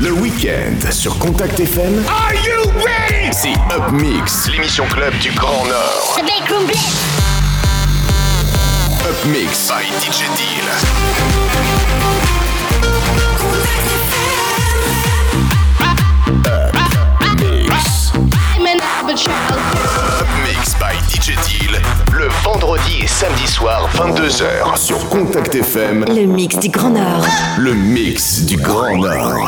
Le week-end sur Contact FM. Are you ready? C'est Up Mix, l'émission club du Grand Nord. The big room blitz. Up Mix by DJ Deal. Up Mix by DJ Deal, le vendredi et samedi soir 22h sur Contact FM. Le mix du Grand Nord. Le mix du Grand Nord.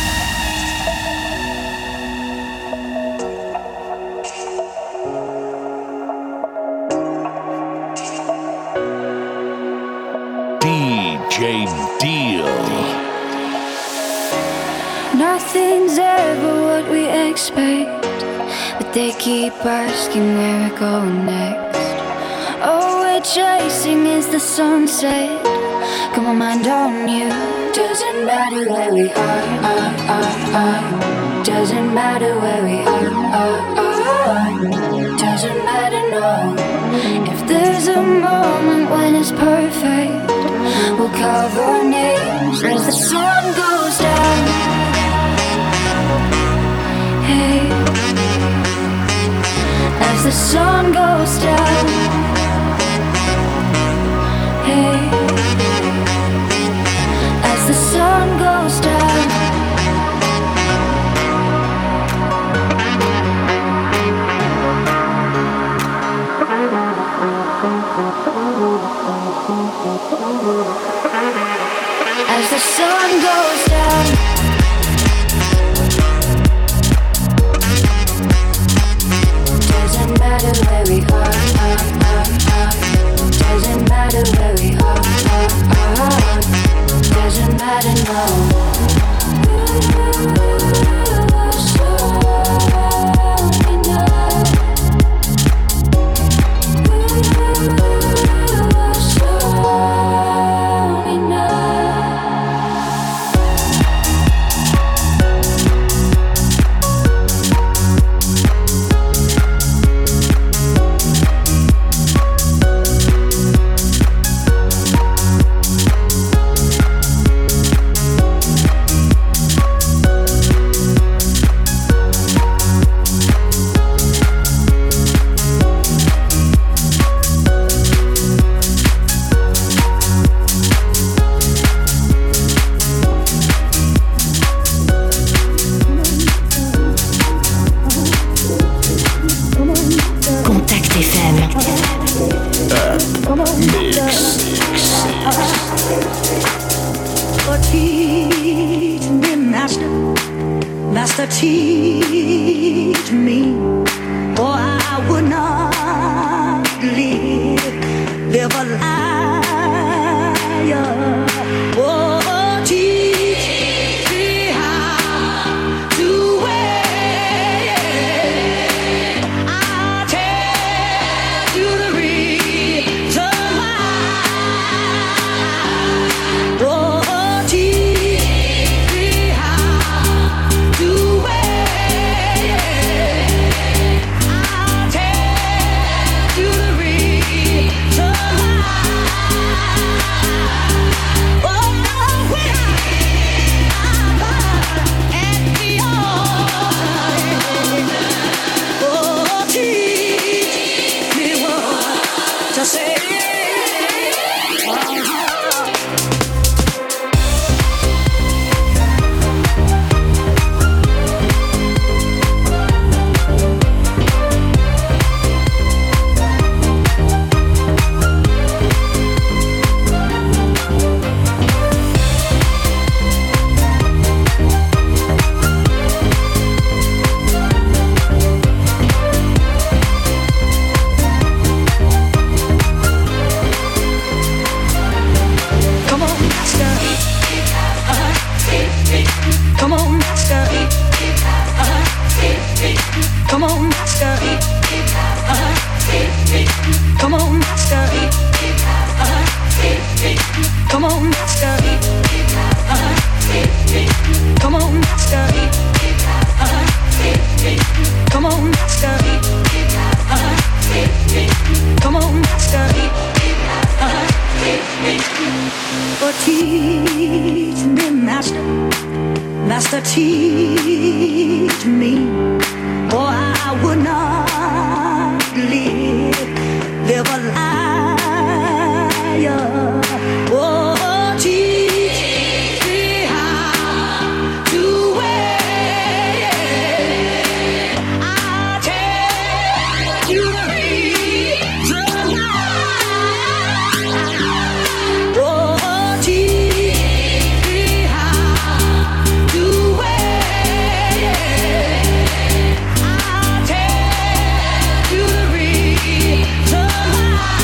DJ Deal. Nothing's ever what we expect, but they keep asking where we're going next. All we're chasing is the sunset. Got my mind on you. Doesn't matter where we are. Doesn't matter where we are. Doesn't matter, no. If there's a moment when it's perfect, we'll cover our names as the sun goes down. Hey, as the sun goes down. Hey, as the sun goes down. As the sun goes down. Doesn't matter where we are. Doesn't matter where we are. Doesn't matter, no. Teach me, or I would not live a liar. Oh, teach me how to wait. I'll tell you the reason why. Oh, teach me how to wait. has to teach me, or I would not live a liar. Oh, teach me how to wait. I'll tell you the reason why. Oh, teach me how to wait. I'll tell you the reason why.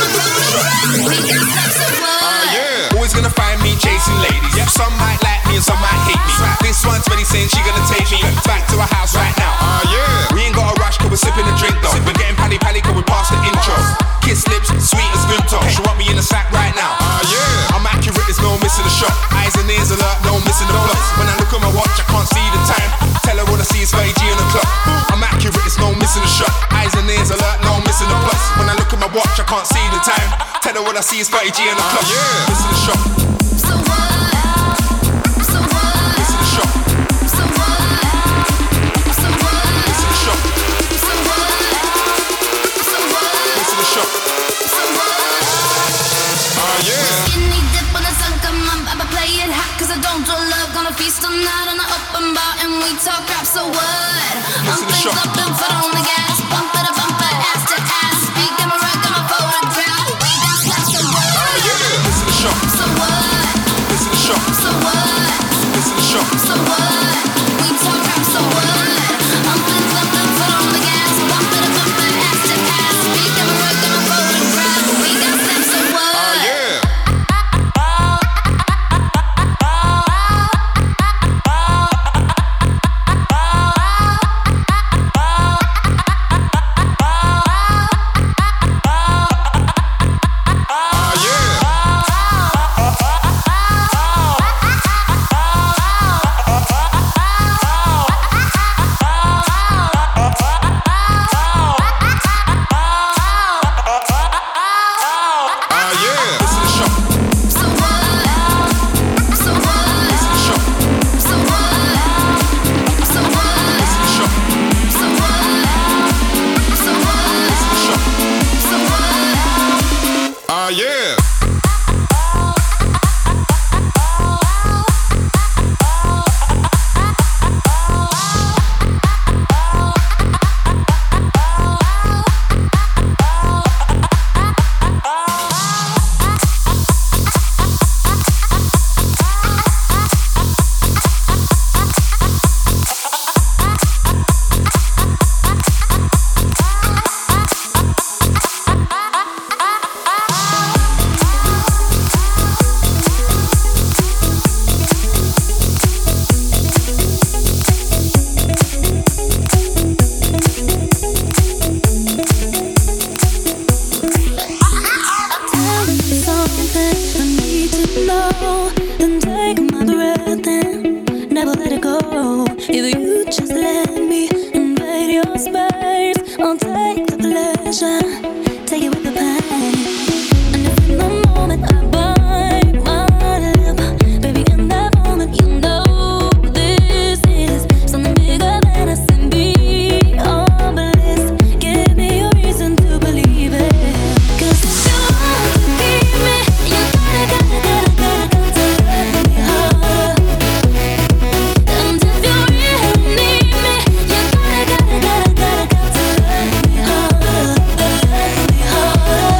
Yeah. Always gonna find me chasing ladies. Yep. Some might like me and some might hate me. This one's ready saying she gonna take me back to her house right now. Yeah. We ain't got a rush cause we're sipping a drink though. We're getting pally cause we're past the intro. Kiss lips, sweet as good talk. She want me in the sack right now. Yeah. I'm accurate, there's no missing the shot. Eyes and ears alert, no missing the plots. When I look at my watch, I can't see the time. Tell her all I see is 30G on the clock. I'm accurate, there's no missing the shot. Eyes and ears alert, no missing the plots. When I look at my watch, I can't see the time. Tell her all I see is 30G on the clock. Yeah. Missing the shot. So what? So what? Missing the shot. So what? So what? Missing the shot. So what? So what? Missing the shot. So what? Yeah. Skinny dip when the sun come up, I'ma play it hot 'cause I don't do love. Gonna feast all night on the open bar and we talk rap. So what? I'm things up and foot on the gas, bumper to bumper, ass to ass. Speak on my rock, on my photograph. We got slaps. So what? Missing the shot. So what? Missing the shot. So what? Missing the shot. So what? We talk rap. So what? I'm things up and foot on the gas, bumper to bumper, ass to ass. Speak on my rock, on my photograph. We got slaps. So what? Yeah. Gotta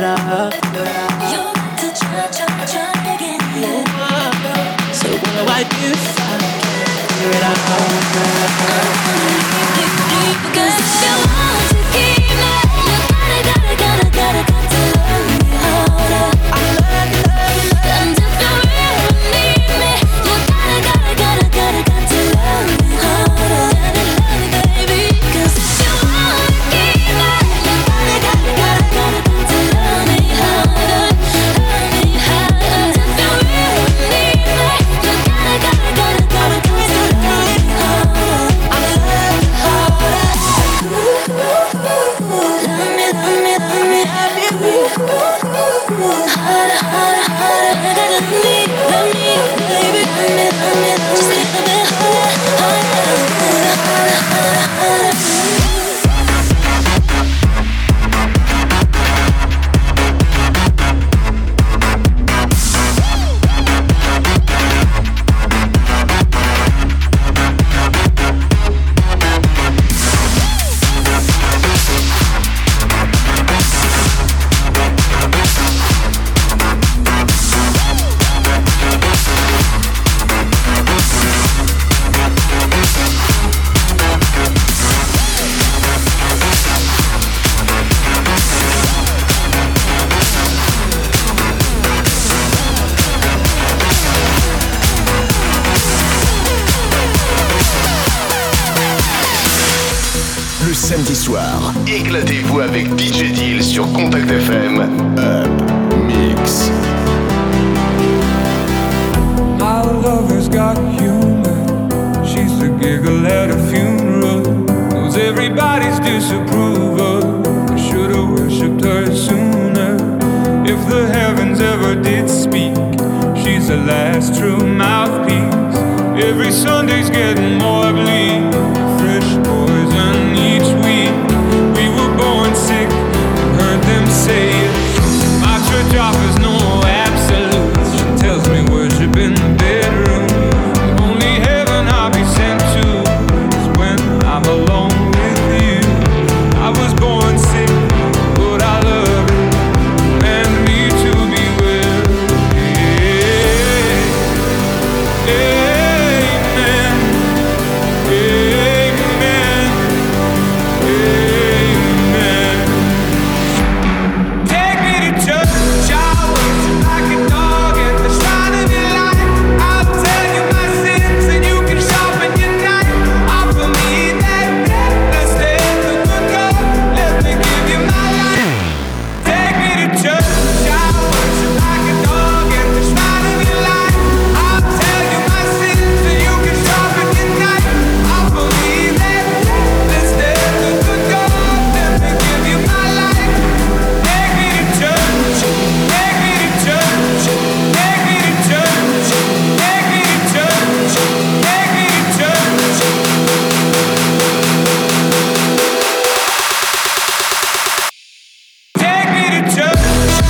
up. You want to try again. So what do I do if I can't figure it out? Because if you want to keep me, you gotta to love me harder. And if you really need me, you gotta to love me harder. Baby, 'cause if you want to keep me, you gotta to love me harder. And if you really need me, you gotta to love me harder. I love you harder. Love me, love me, love me, harder, harder, harder. Love me, baby, love me, just a little bit harder, harder, harder, harder, harder. Le samedi soir, éclatez-vous avec DJ Deal sur Contact FM. Up Mix. My lover's got humor. She's the giggle at a funeral. Knows everybody's disapproval. I should've worshipped her sooner. If the heavens ever did speak, she's the last true mouthpiece. Every Sunday's getting more bleak. Fresh poison each week. We were born sick and heard them say it. My church offers no absolutes. She tells me worship in the bedroom. The only heaven I'll be sent to is when I'm alone with you. I was born sick, but I love it. And me to be well. Amen. Amen. Amen. Take me to church, I'll worship like a dog at the shrine of your light. I'll tell you my sins and you can sharpen your knife. Offer me that necklace, there's a good God, let me give you my life. Take me to church, I'll worship like a dog at the shrine of your light. I'll tell you my sins and you can sharpen your knife. Offer me that necklace, there's a good God, let me give you my life. Take me to church, take me to church, take me to church, take me to church, take me to church. Take me to church.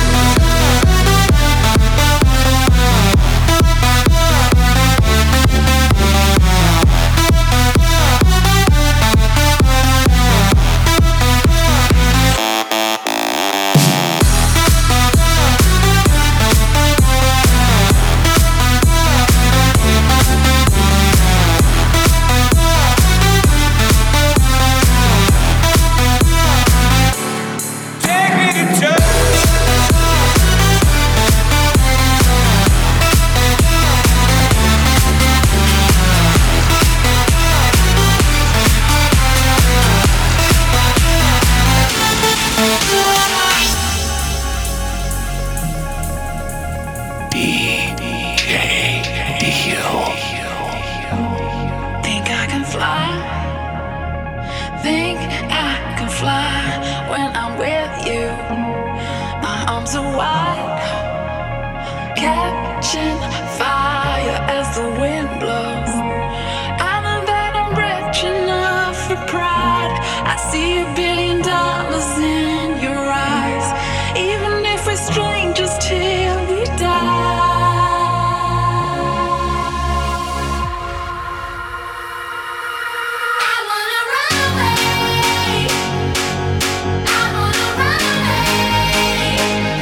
Take me to church. Think I can fly. Think I can fly when I'm with you. My arms are wide, catching fire as the wind blows. I know that I'm rich enough for pride. I see $1 billion in your eyes, even if we're strangers till we die. I wanna run away. I wanna run away.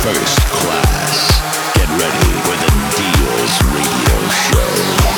First class. Get ready for the Deals Radio Show.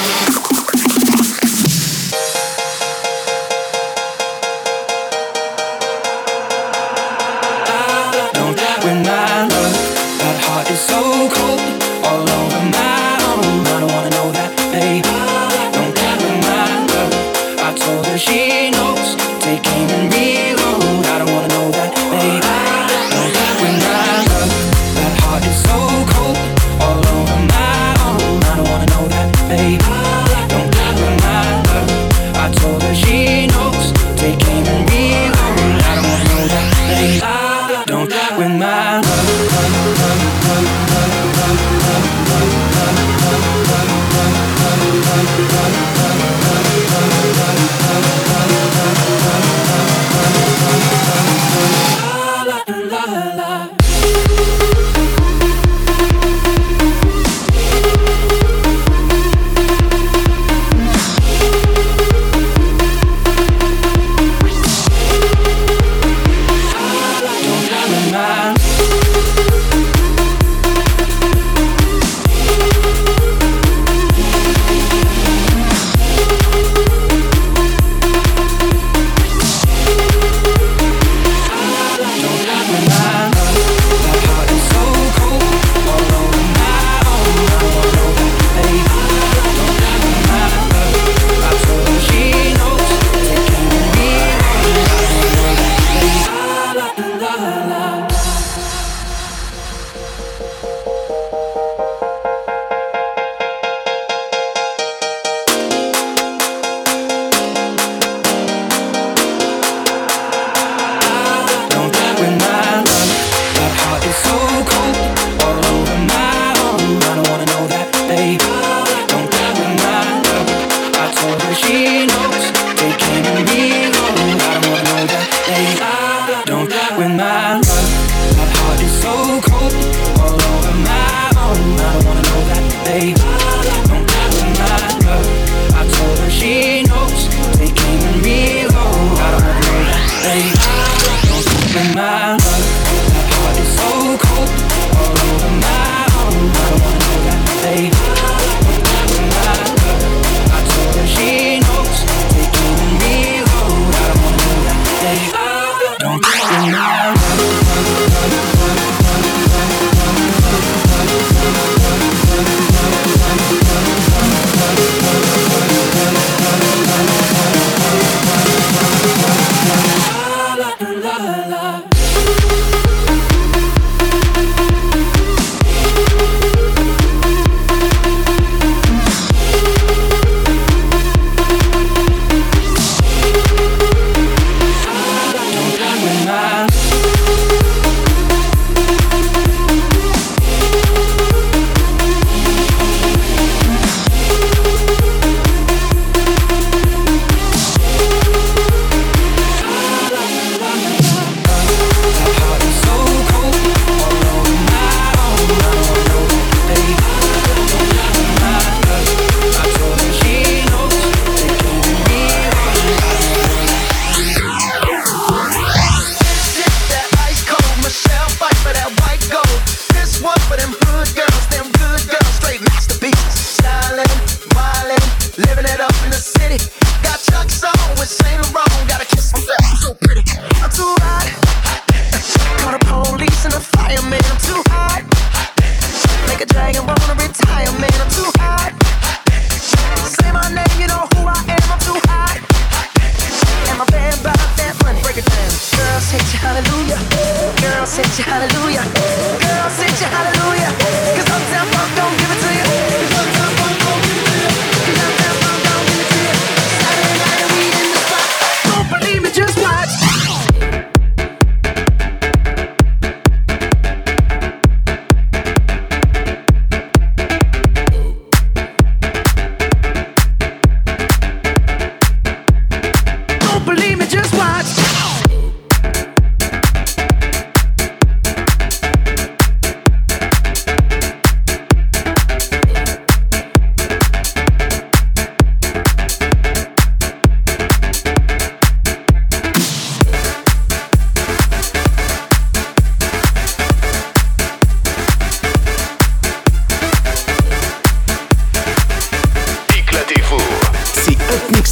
When my love, that heart is so cold, all over my own. I don't wanna know that, babe. Don't care when my love, I told her she knows. Take aim and reload. I don't wanna know that, babe. Don't care when my love, that heart is so cold, all over my own. I don't wanna know that, babe. Don't care when my love, I told her she knows. Take aim and reload. I don't wanna know that, babe. Don't when my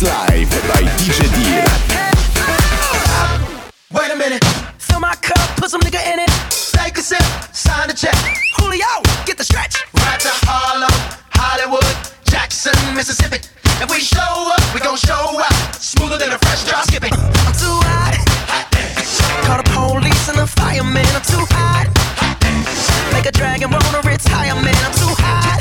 Live by DJ Deal. Wait a minute, fill my cup, put some nigga in it. Take a sip, sign the check. Julio, get the stretch. Right to Harlem, Hollywood, Jackson, Mississippi. If we show up, we gon' show out. Smoother than a fresh drop skipping. I'm too hot. Call the police and the fireman. I'm too hot. Make a dragon wanna retire, man. I'm too hot.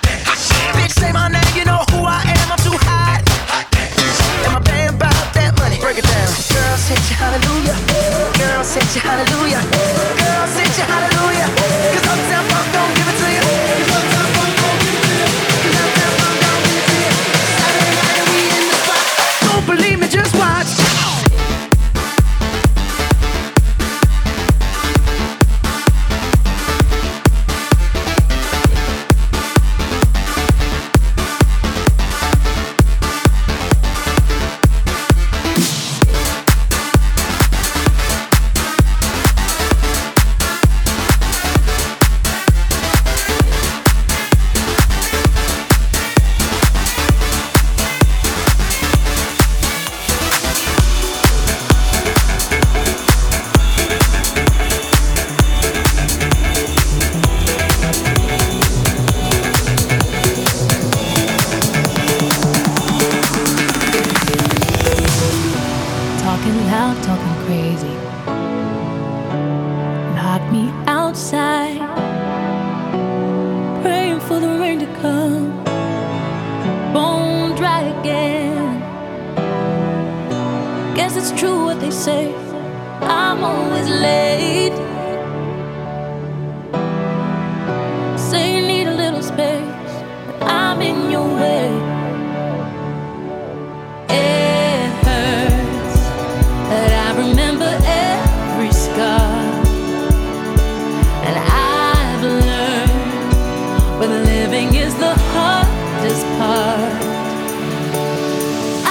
Bitch, say my name, you know who I am. I'm too hot. And my band about that money. Break it down. Girl, set you hallelujah. Girl, set you hallelujah. Girl, set you hallelujah. Cause Uptown Funk don't give it to you. Cause Uptown Funk don't give it to you. Cause Uptown Funk don't give it to you. Saturday night and we in the spot. Don't believe me, just watch.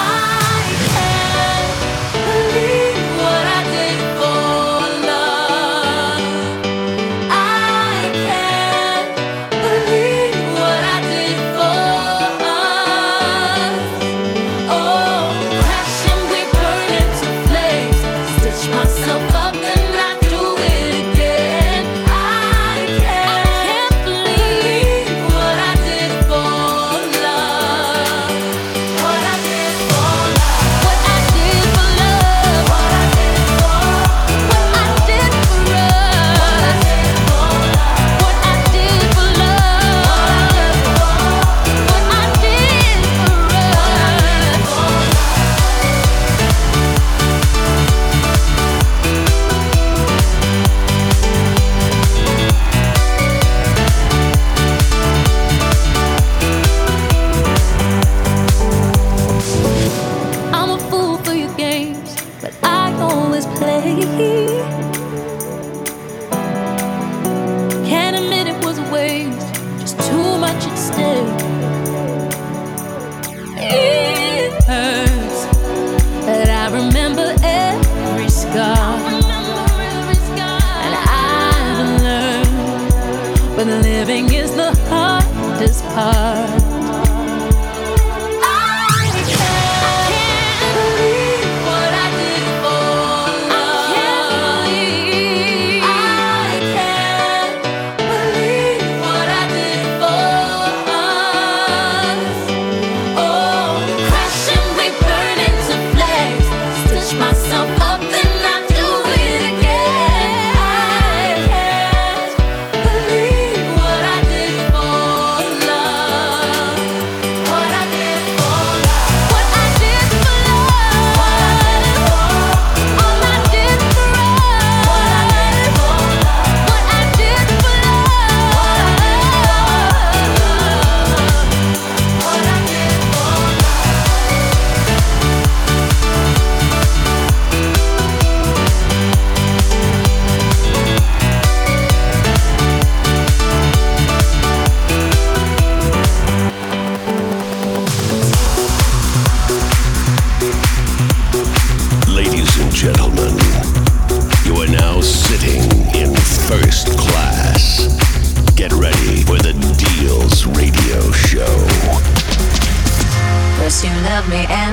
Believe what I did for love.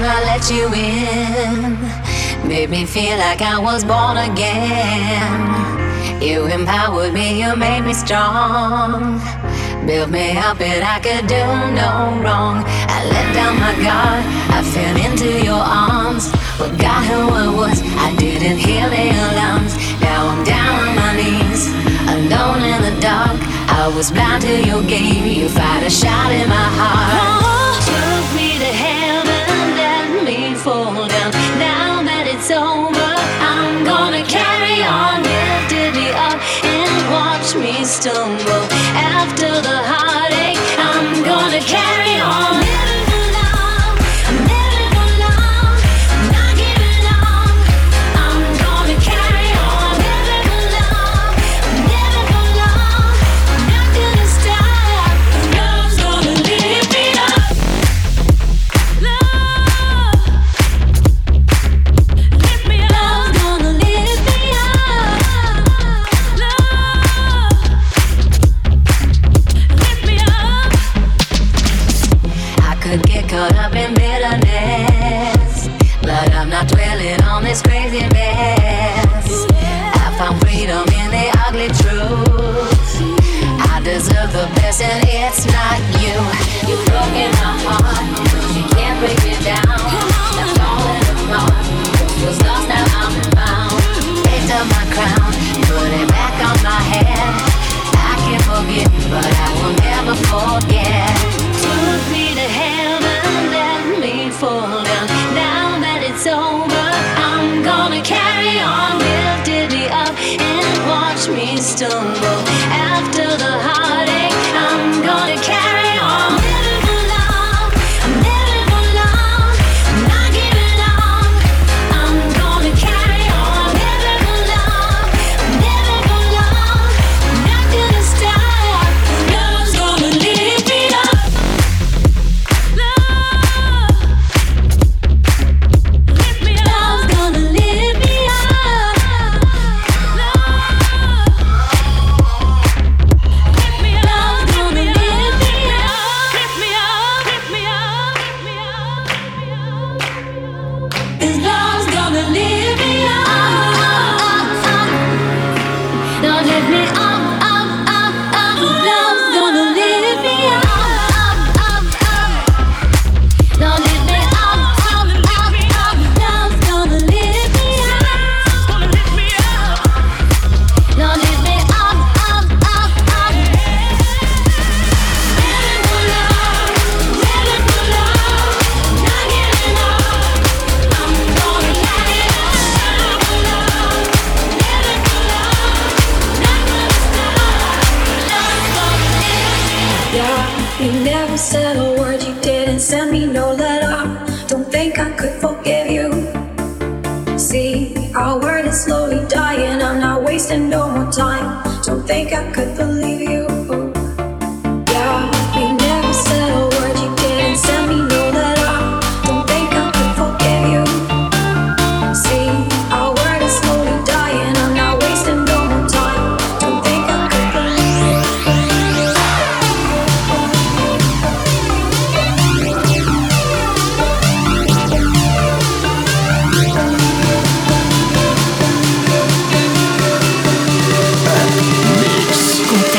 I let you in. Made me feel like I was born again. You empowered me, you made me strong. Built me up and I could do no wrong. I let down my guard, I fell into your arms. Forgot who I was, I didn't hear the alarms. Now I'm down on my knees, alone in the dark. I was blind to your game, you fired a shot in my heart. Took me to heaven, let me fall down. Now that it's over, I'm gonna carry on. Lifted me up and watch me stumble. After the heartache, I'm gonna carry on. Living for love, I'm living for love. I'm not giving up, I'm gonna carry on. Living for love, I'm living for love. I'm not gonna stop. Love's gonna lift me up. Love, lift me up. Love's gonna lift me up. Love, lift me up. I could get caught up in bitterness, but I'm not dwelling on this crazy mess. I found freedom in the ugly truth. I deserve the best and it's not you. You've broken my heart, but you can't break me down. I'm falling apart, was lost, now I'm found. Picked up my crown, put it back on my head. I can forget, but I will never forget. Took me to heaven, let me fall down. Now that it's over, I'm gonna carry on. Lifted me up and watch me stumble. After the heartache, I'm gonna carry on. Living for love, I'm living for love. I'm not giving up, I'm gonna carry on. Living for love, I'm living for love. I'm not gonna stop. Love's gonna lift me up. Love, lift me up. Love's gonna lift me up. Love, lift me up. Love's gonna lift me up. Lift me up. Lift me up. Lift me up. 'Cause love's gonna lift me up. Don't lift me up, up, up, up. Love's gonna lift me up, up, up. Don't lift me up, up, up, up. Love's gonna lift me up. Don't lift me up, up, up, up. Living for love, living for love. Not giving up, I'm gonna carry on. Living for love, living for love. Not gonna stop. Love's gonna lift me up. Yeah, you never said a word, you didn't send me no letter. Don't think I could forgive you. See, our word is slowly dying, I'm not wasting no more time. Don't think I could believe you. Yeah, you never said a word, you didn't send me no letter. Don't think I could forgive you. See, our word is slowly dying, I'm not wasting no more time. Don't think I could believe you. Mix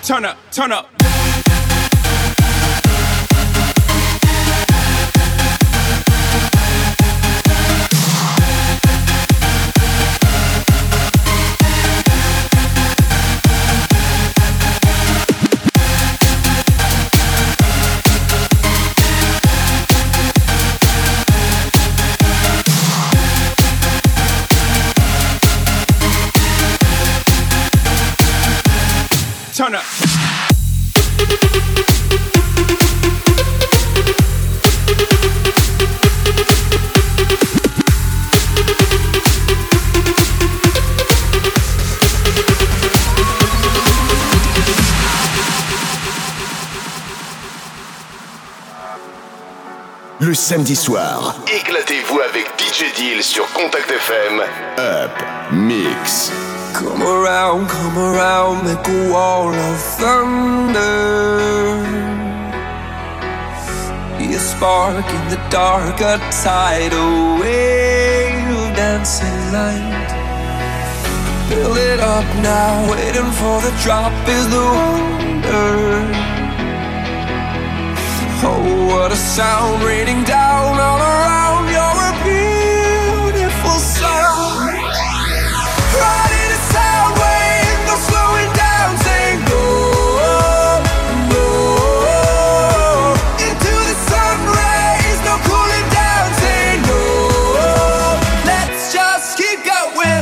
turn up, turn up. Turn up. Le samedi soir, éclatez-vous avec DJ Deal sur Contact FM. Up Mix. Come around, make a wall of thunder. Be a spark in the dark, a tidal wave, dancing light. Build it up now, waiting for the drop is the wonder. Oh, what a sound raining down all around. You're a beautiful sound. Riding a sound wave, no slowing down, saying go, go. Into the sun rays, no cooling down, saying no. Let's just keep going.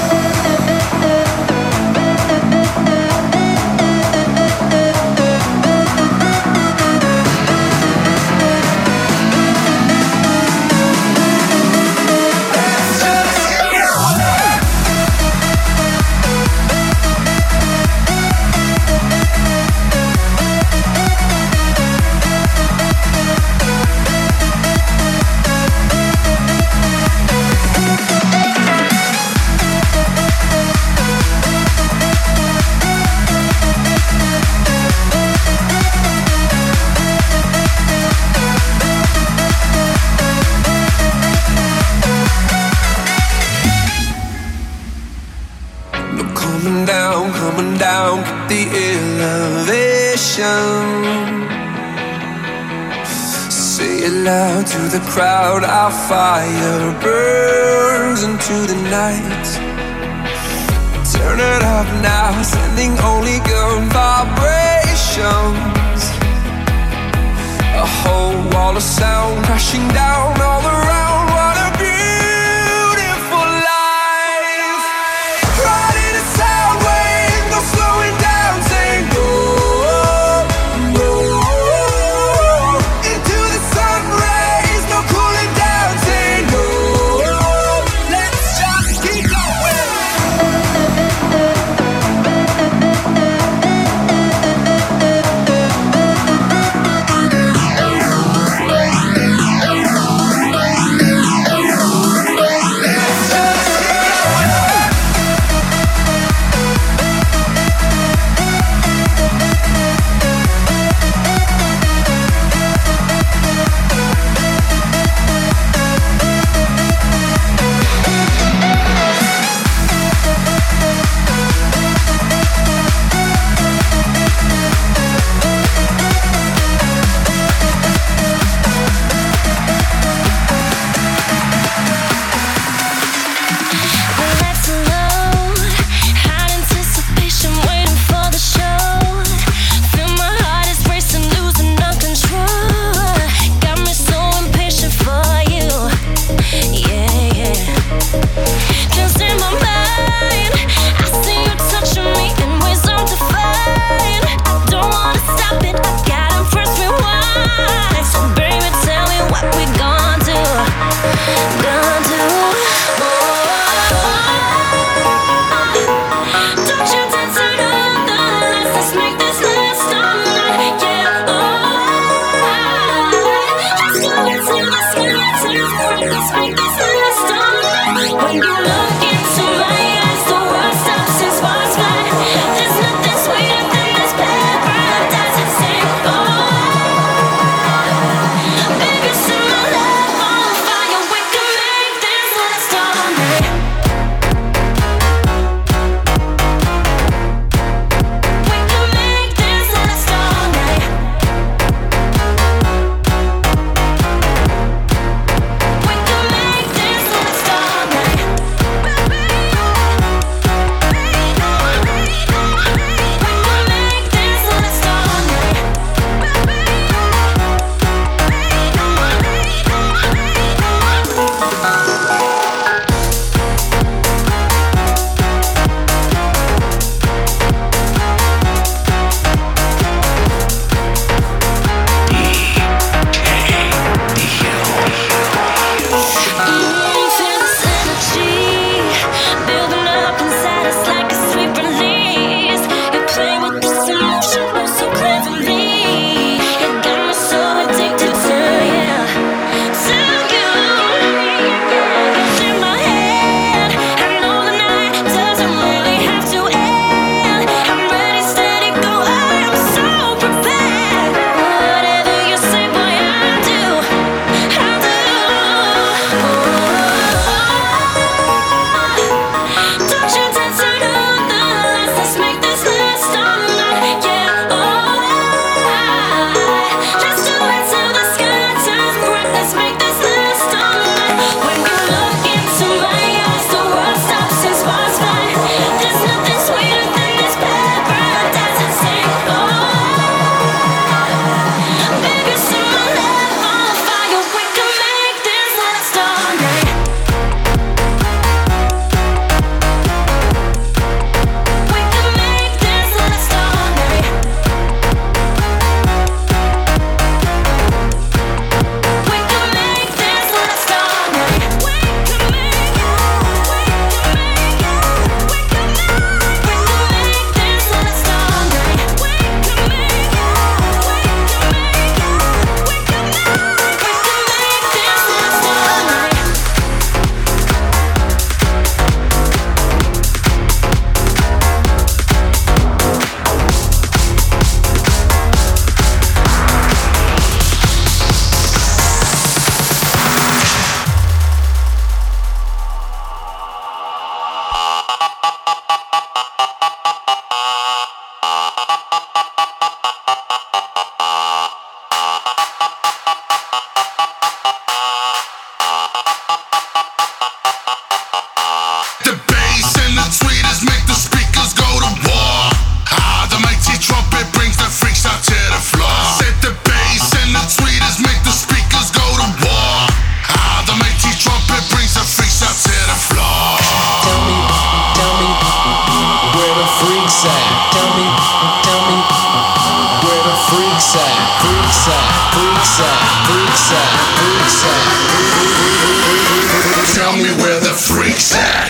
Coming down, keep the elevation. Say it loud to the crowd, our fire burns into the night. Turn it up now, sending only good vibrations. A whole wall of sound crashing down all around. What a beautiful life. Riding a sound wave, no slowing down, saying go, go. Into the sun rays, no cooling down, saying no. Let's just keep going. freaks at? Tell me where the freaks at? Freaks at, freaks at, freaks at, freaks at. Tell me where the freaks at.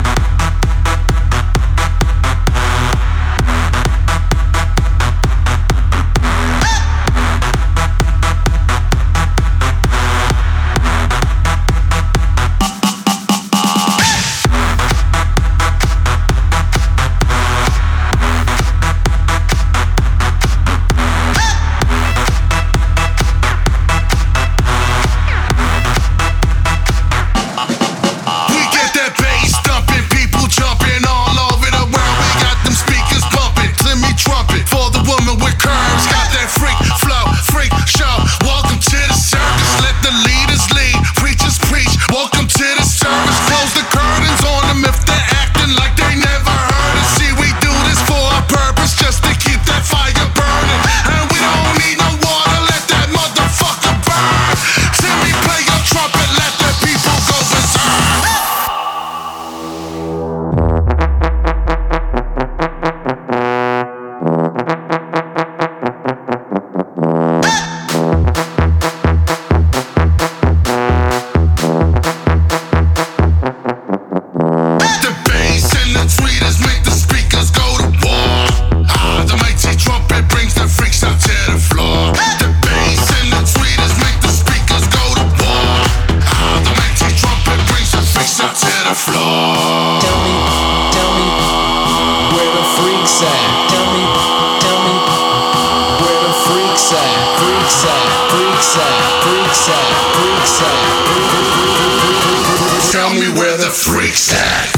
Tell me where the freaks at.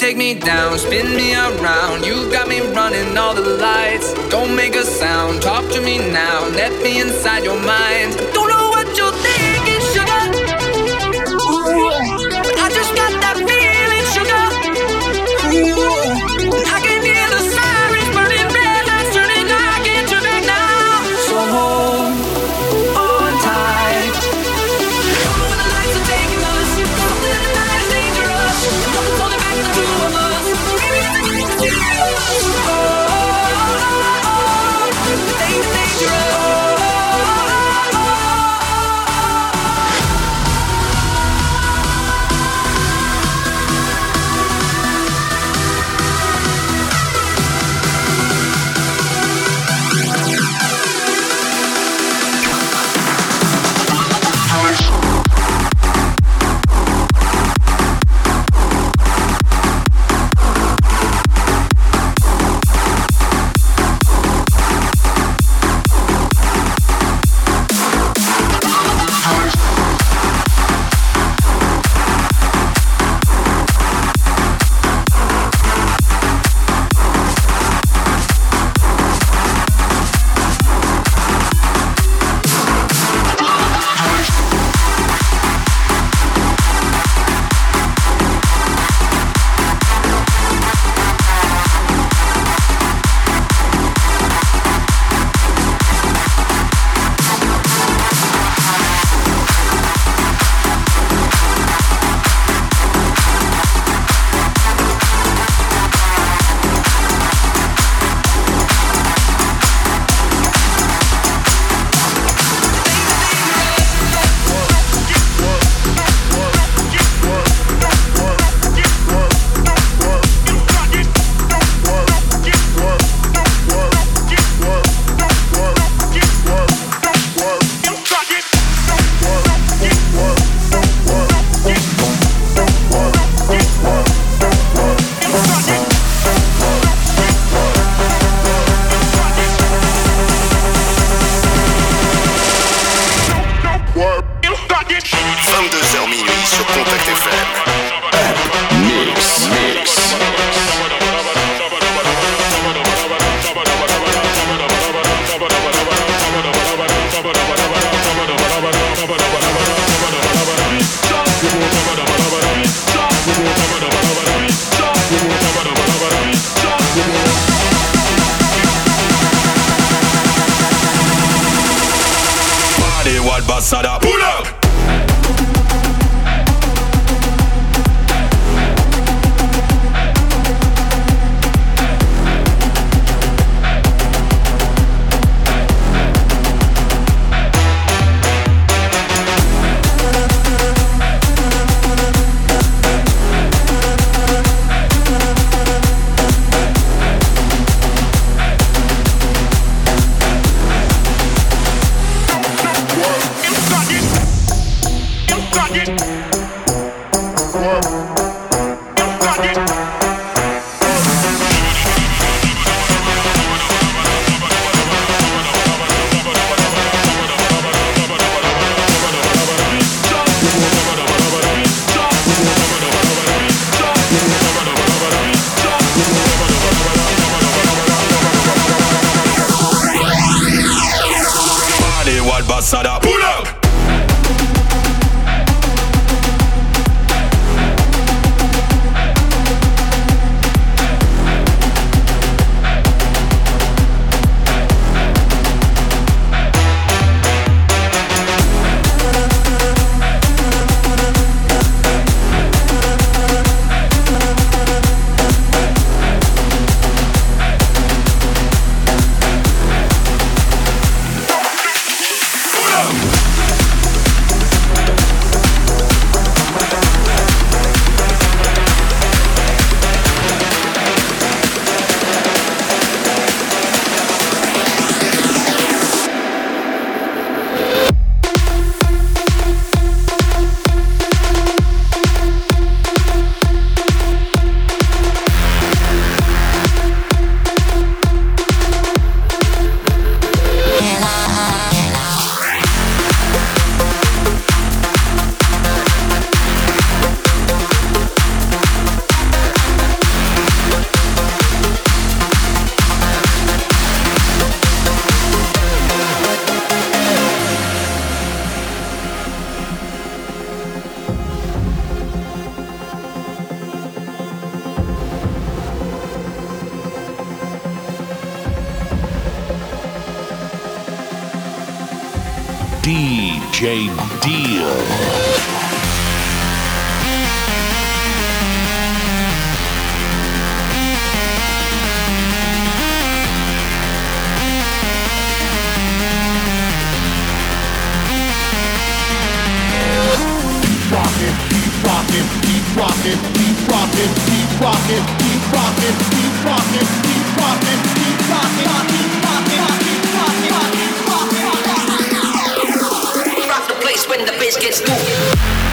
take me down, spin me around. You got me running all the lights. Don't make a sound, talk to me now. Let me inside your mind. Don't know what you're thinking, sugar. Ooh, but I just got that feeling, sugar. Ooh, I can hear the sirens burning, red lights turning. I can't turn back now. So hold on tight. Don't know where the lights are taking us. Don't let the night is dangerous. Nothing's holding back the two of us. Maybe it's dangerous. Things dangerous. Sada, pull up. Sada, pull up. Pull up. DJ Deal. Rock the place when the bass gets moving.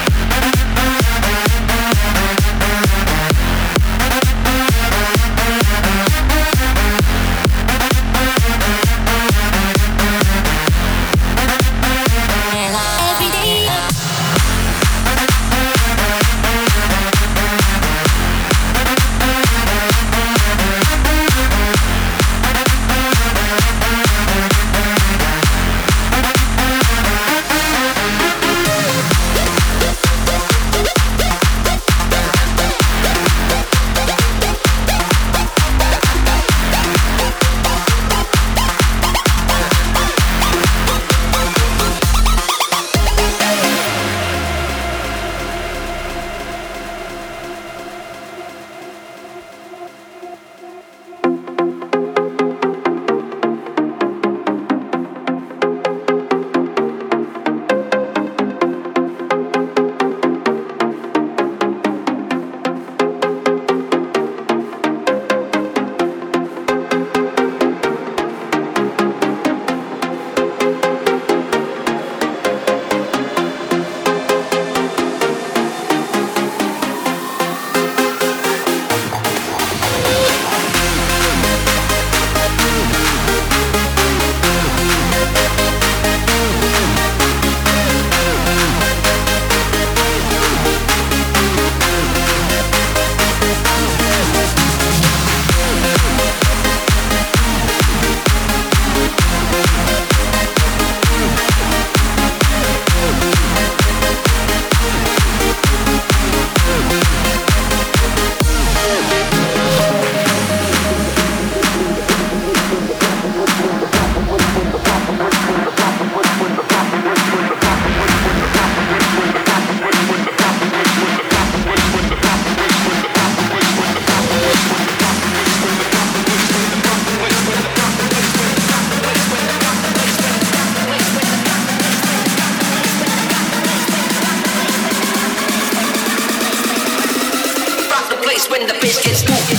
When the bass gets moving.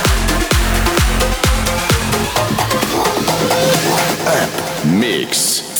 Mix.